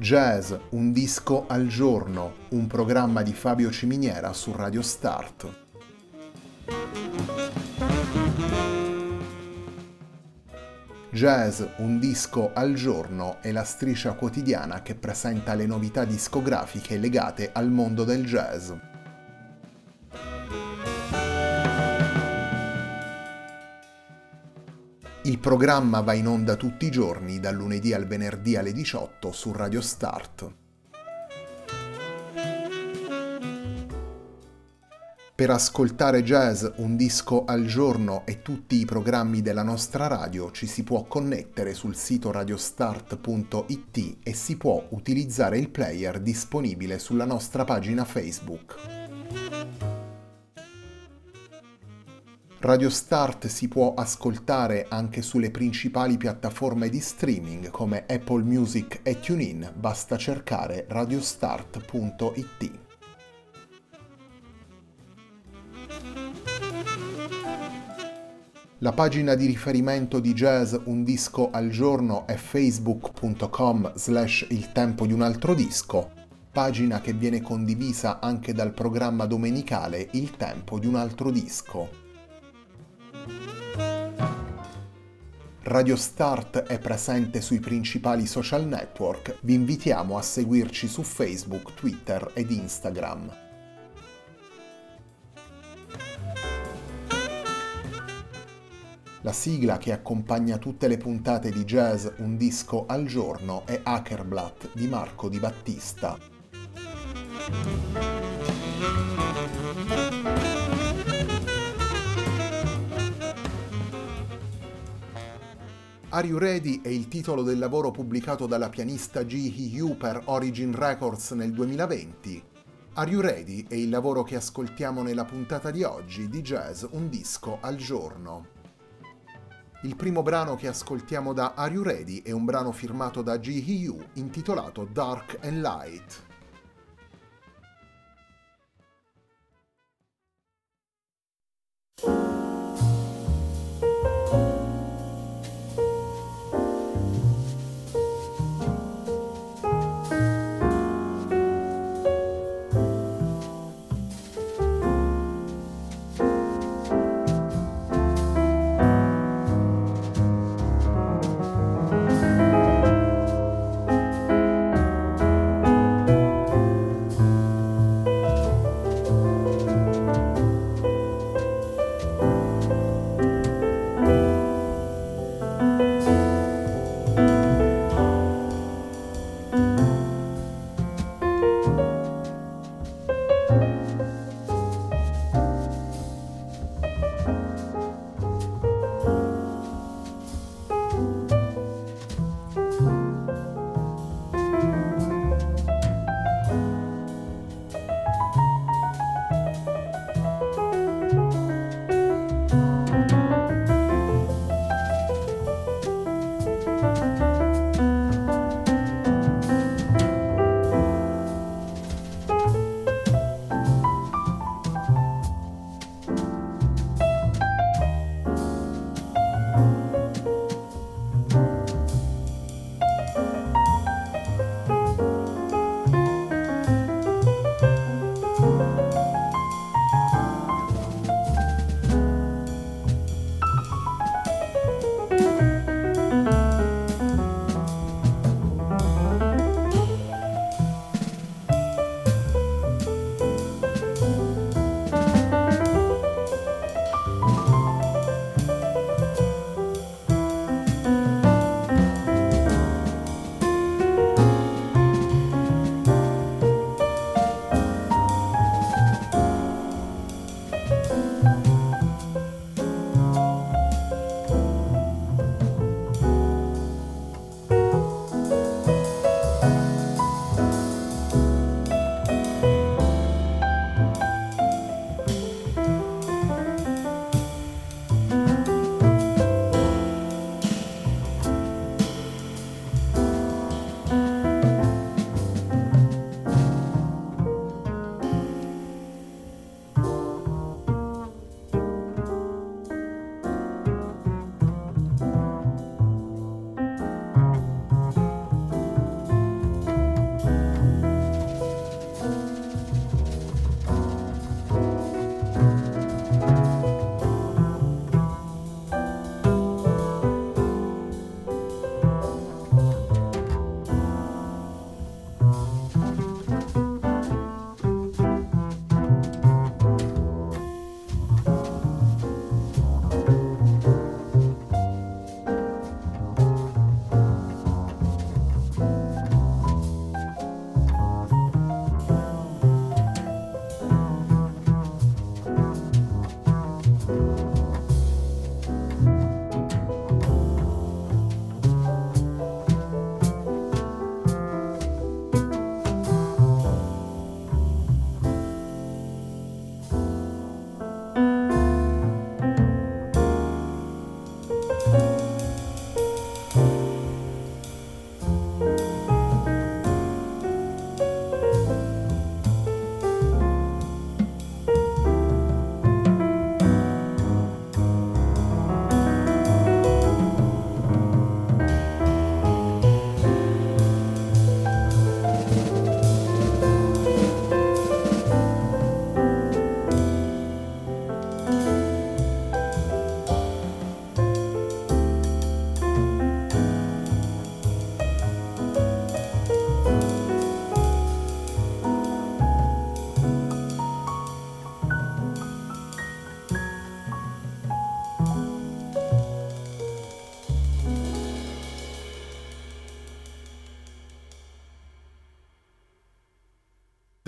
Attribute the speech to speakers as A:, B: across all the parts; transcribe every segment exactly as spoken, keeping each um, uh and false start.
A: Jazz, un disco al giorno, un programma di Fabio Ciminiera su Radio Start. Jazz, un disco al giorno è la striscia quotidiana che presenta le novità discografiche legate al mondo del jazz. Il programma va in onda tutti i giorni, dal lunedì al venerdì alle diciotto su Radio Start. Per ascoltare Jazz, un disco al giorno e tutti i programmi della nostra radio ci si può connettere sul sito radiostart punto it e si può utilizzare il player disponibile sulla nostra pagina Facebook. Radio Start si può ascoltare anche sulle principali piattaforme di streaming come Apple Music e TuneIn, basta cercare radiostart punto it. La pagina di riferimento di Jazz Un Disco al Giorno è facebook punto com slash il tempo di un altro disco, pagina che viene condivisa anche dal programma domenicale Il tempo di un altro disco. Radio Start è presente sui principali social network, vi invitiamo a seguirci su Facebook, Twitter ed Instagram. La sigla che accompagna tutte le puntate di Jazz Un Disco al Giorno è Hackerblatt di Marco Di Battista. Are You Ready è il titolo del lavoro pubblicato dalla pianista Ji Hee-yu per Origin Records nel duemilaventi. Are You Ready è il lavoro che ascoltiamo nella puntata di oggi di Jazz Un Disco al Giorno. Il primo brano che ascoltiamo da Are You Ready è un brano firmato da Ji Hee-yu intitolato Dark and Light.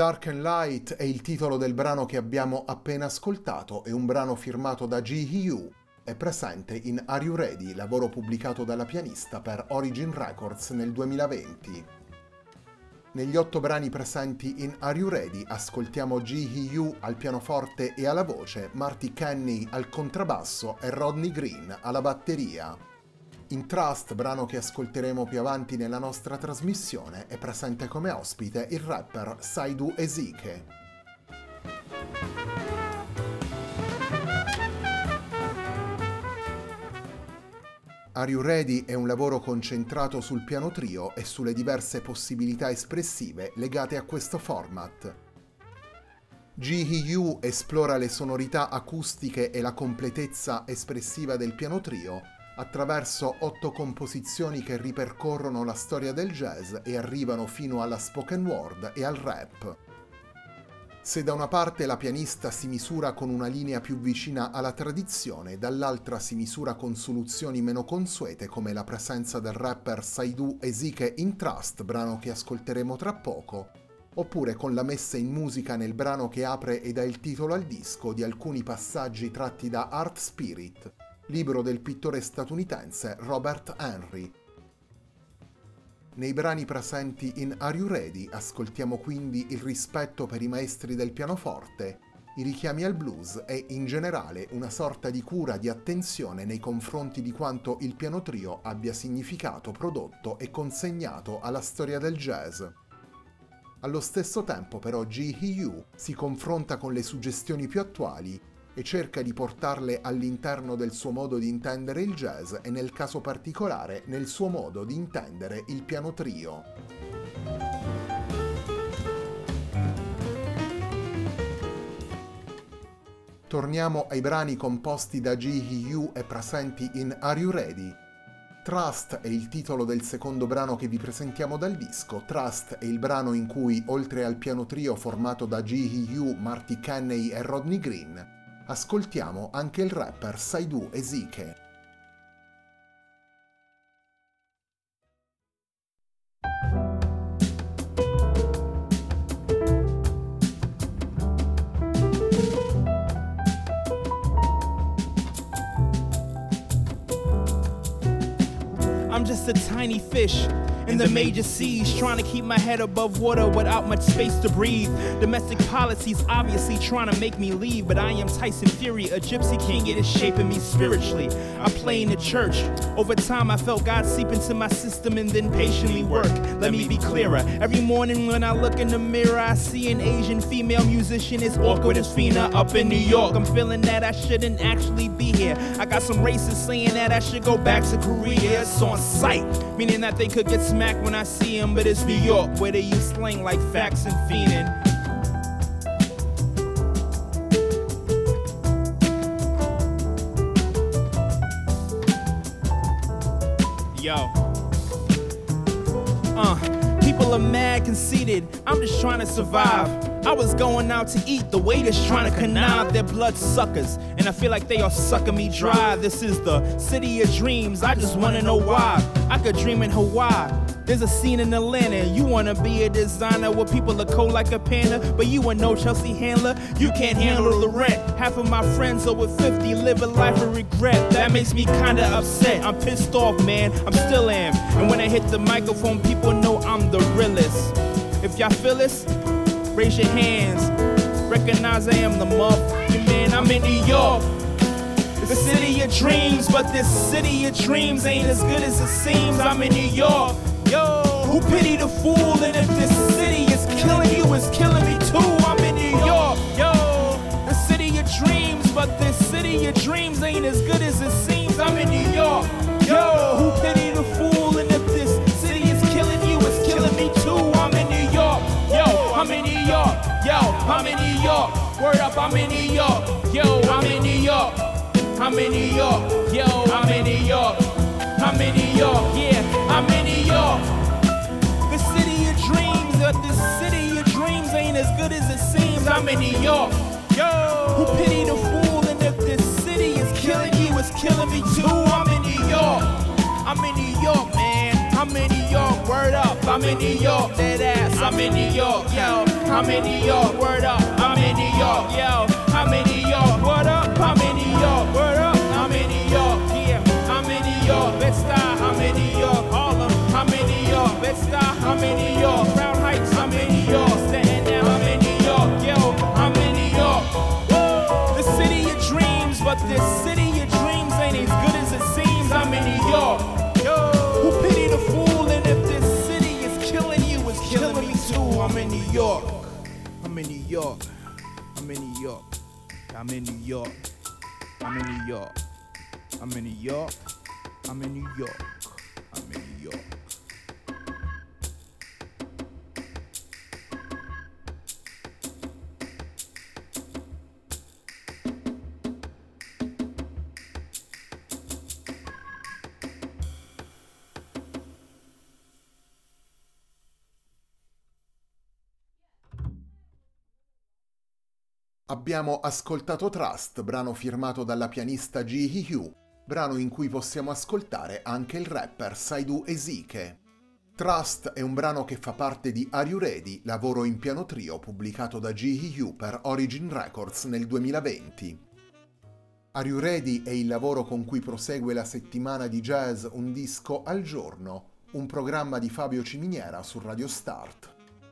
A: Dark and Light è il titolo del brano che abbiamo appena ascoltato, è un brano firmato da G-Hyu, è presente in Are You Ready, lavoro pubblicato dalla pianista per Origin Records nel duemilaventi. Negli otto brani presenti in Are You Ready ascoltiamo G-Hyu al pianoforte e alla voce, Marty Kenny al contrabbasso e Rodney Green alla batteria. In Trust, brano che ascolteremo più avanti nella nostra trasmissione, è presente come ospite il rapper Saidu Ezike. Are You Ready è un lavoro concentrato sul piano trio e sulle diverse possibilità espressive legate a questo format. G-Hyu esplora le sonorità acustiche e la completezza espressiva del piano trio attraverso otto composizioni che ripercorrono la storia del jazz e arrivano fino alla spoken word e al rap. Se da una parte la pianista si misura con una linea più vicina alla tradizione, dall'altra si misura con soluzioni meno consuete come la presenza del rapper Saidu Ezike in Trust, brano che ascolteremo tra poco, oppure con la messa in musica nel brano che apre e dà il titolo al disco di alcuni passaggi tratti da Art Spirit, libro del pittore statunitense Robert Henry. Nei brani presenti in Are You Ready ascoltiamo quindi il rispetto per i maestri del pianoforte, i richiami al blues e in generale una sorta di cura di attenzione nei confronti di quanto il piano trio abbia significato, prodotto e consegnato alla storia del jazz. Allo stesso tempo però G-Hyu si confronta con le suggestioni più attuali e cerca di portarle all'interno del suo modo di intendere il jazz e nel caso particolare nel suo modo di intendere il piano trio. Torniamo ai brani composti da G-Hyu e presenti in Are You Ready? Trust è il titolo del secondo brano che vi presentiamo dal disco. Trust è il brano in cui, oltre al piano trio formato da G-Hyu, Marty Kenny e Rodney Green, ascoltiamo anche il rapper Saidu Ezike.
B: I'm just a tiny fish in the major seas, trying to keep my head above water without much space to breathe. Domestic policies obviously trying to make me leave, but I am Tyson Fury, a gypsy king. It is shaping me spiritually. I play in the church. Over time I felt God seep into my system and then patiently work. Let me be clearer. Every morning when I look in the mirror, I see an Asian female musician as awkward as Fina up in New York. I'm feeling that I shouldn't actually be here. I got some racists saying that I should go back to Korea. It's on sight, meaning that they could get smacked when I see them, but it's New York where they use slang like facts and fiending. Yo. Uh, people are mad, conceited. I'm just trying to survive. I was going out to eat, the waiters trying to connive. They're blood suckers, and I feel like they are sucking me dry. This is the city of dreams, I just wanna know why. I could dream in Hawaii. There's a scene in Atlanta. You wanna be a designer where people are cold like a panda, but you are no Chelsea handler. You can't handle the rent. Half of my friends over fifty live a life of regret. That makes me kinda upset. I'm pissed off, man. I'm still am. And when I hit the microphone, people know I'm the realest. If y'all feel this, raise your hands. Recognize I am the motherfucking man. I'm in New York, the city of dreams, but this city of dreams ain't as good as it seems. I'm in New York. Yo, who pity the fool? And if this city is killing you, it's killing me too. I'm in New York. Yo, the city of dreams, but this city of dreams ain't as good as it seems. I'm in New York. Yo, who pity the fool? And if this city is killing you, it's killing me too. I'm in New York. Yo, I'm in New York. Yo, I'm in New York. Word up, I'm in New York. Yo, I'm in New York. I'm in New York. Yo, I'm in New York. I'm in New York. Yeah, I'm in New York. The city of dreams, but this city of dreams ain't as good as it seems. I'm in New York. Yo, who pity the fool? And if this city is killing you, it's killing me too. I'm in New York. I'm in New York, man. I'm in New York. Word up, I'm in New York. Dead ass, I'm in New York. Yo, I'm in New York, word up, I'm in New York, yo, I'm in New York, what up, I'm in New York, word up, I'm in New York, yeah, I'm in New York, Bed-Stuy, I'm in New York, Harlem, I'm in New York, Bed-Stuy, I'm in New York, Crown Heights, I'm in New York, Staten Island, I'm in New York, yo, I'm in New York. The city of dreams, but this city of dreams ain't as good as it seems. I'm in New York. Who pity the fool? And if this city is killing you, it's killing me too. I'm in New York. I'm in New York. I'm in New York. I'm in New York. I'm in New York. I'm in New York. I'm in New York. I'm in New York.
A: Abbiamo ascoltato Trust, brano firmato dalla pianista Ji Hee, brano in cui possiamo ascoltare anche il rapper Saidu Ezike. Trust è un brano che fa parte di Are You Ready, lavoro in piano trio pubblicato da Ji Hee per Origin Records nel duemilaventi. Are You Ready è il lavoro con cui prosegue la settimana di jazz Un disco al giorno, un programma di Fabio Ciminiera su Radio Start.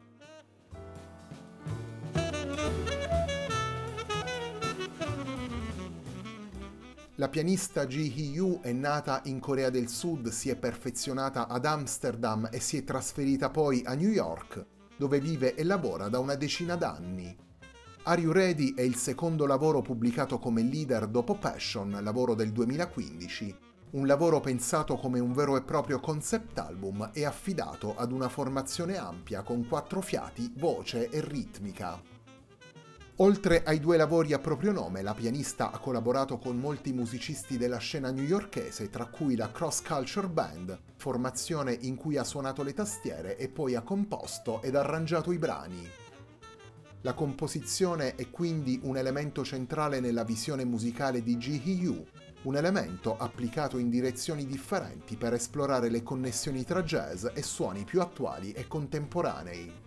A: La pianista Ji Hee è nata in Corea del Sud, si è perfezionata ad Amsterdam e si è trasferita poi a New York, dove vive e lavora da una decina d'anni. Are You Ready è il secondo lavoro pubblicato come leader dopo Passion, lavoro del duemilaquindici, un lavoro pensato come un vero e proprio concept album e affidato ad una formazione ampia con quattro fiati, voce e ritmica. Oltre ai due lavori a proprio nome, la pianista ha collaborato con molti musicisti della scena newyorkese, tra cui la Cross Culture Band, formazione in cui ha suonato le tastiere e poi ha composto ed arrangiato i brani. La composizione è quindi un elemento centrale nella visione musicale di Ji Hee, un elemento applicato in direzioni differenti per esplorare le connessioni tra jazz e suoni più attuali e contemporanei.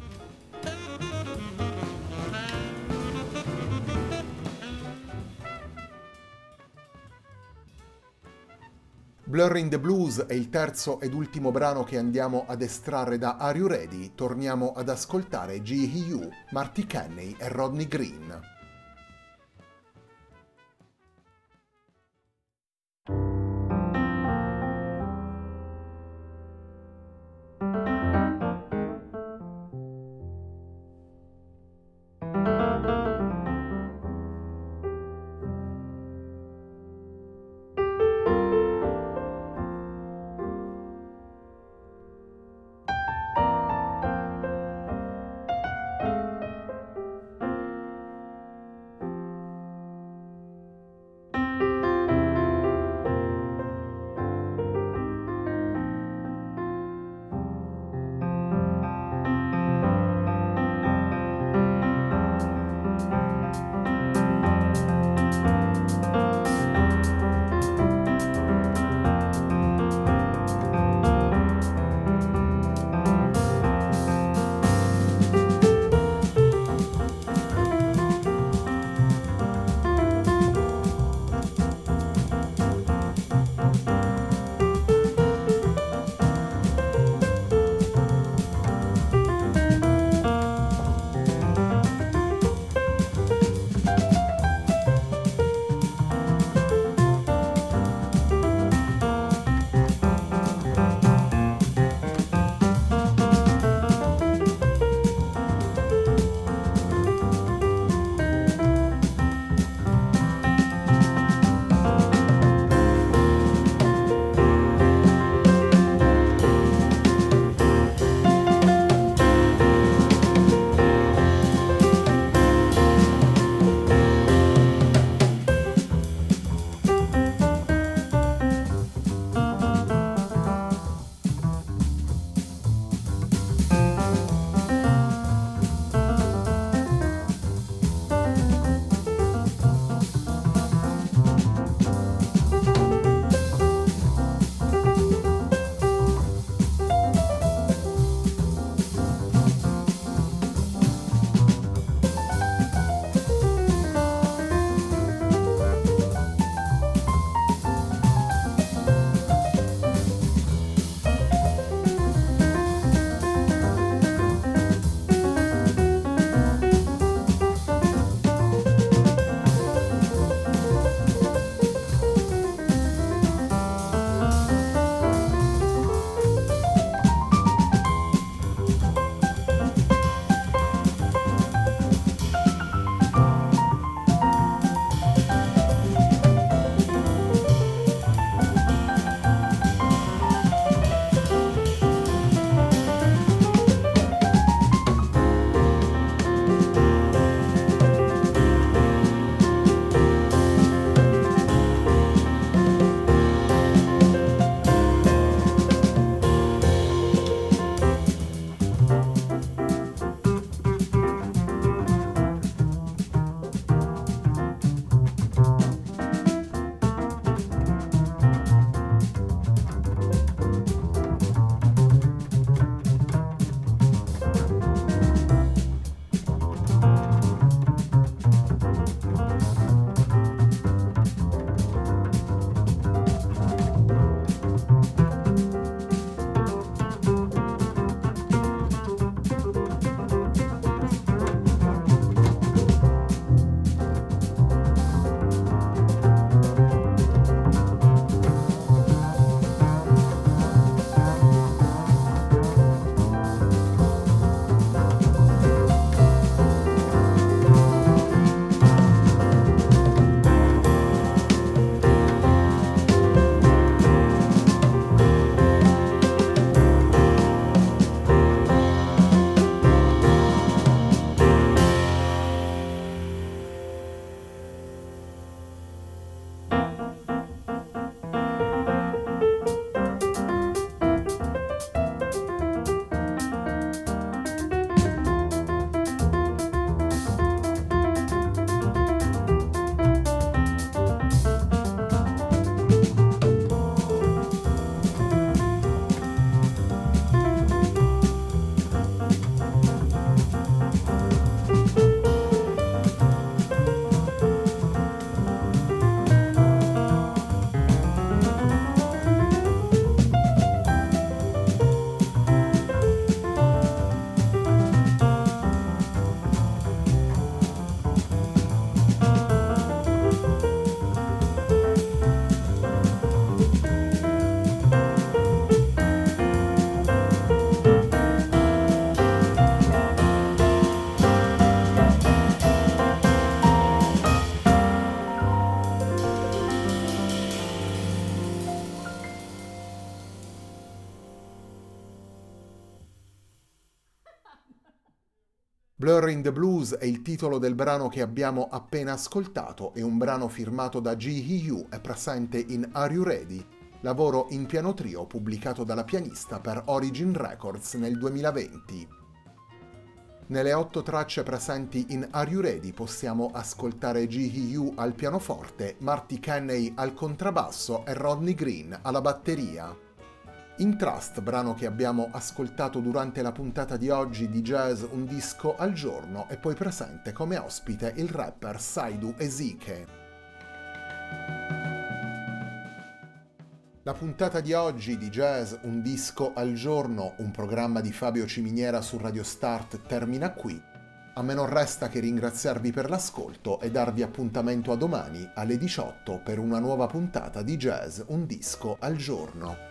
A: Blurring the Blues è il terzo ed ultimo brano che andiamo ad estrarre da Are You Ready. Torniamo ad ascoltare Ji Hee, Marty Kenney e Rodney Green. Blur in the Blues è il titolo del brano che abbiamo appena ascoltato, è un brano firmato da G-Hee e presente in Are You Ready, lavoro in piano trio pubblicato dalla pianista per Origin Records nel duemilaventi. Nelle otto tracce presenti in Are You Ready possiamo ascoltare G-Hee al pianoforte, Marty Kenney al contrabbasso e Rodney Green alla batteria. In Trust, brano che abbiamo ascoltato durante la puntata di oggi di Jazz Un Disco al Giorno, è poi presente come ospite il rapper Saidu Ezike. La puntata di oggi di Jazz Un Disco al Giorno, un programma di Fabio Ciminiera su Radio Start, termina qui. A me non resta che ringraziarvi per l'ascolto e darvi appuntamento a domani alle diciotto per una nuova puntata di Jazz Un Disco al Giorno.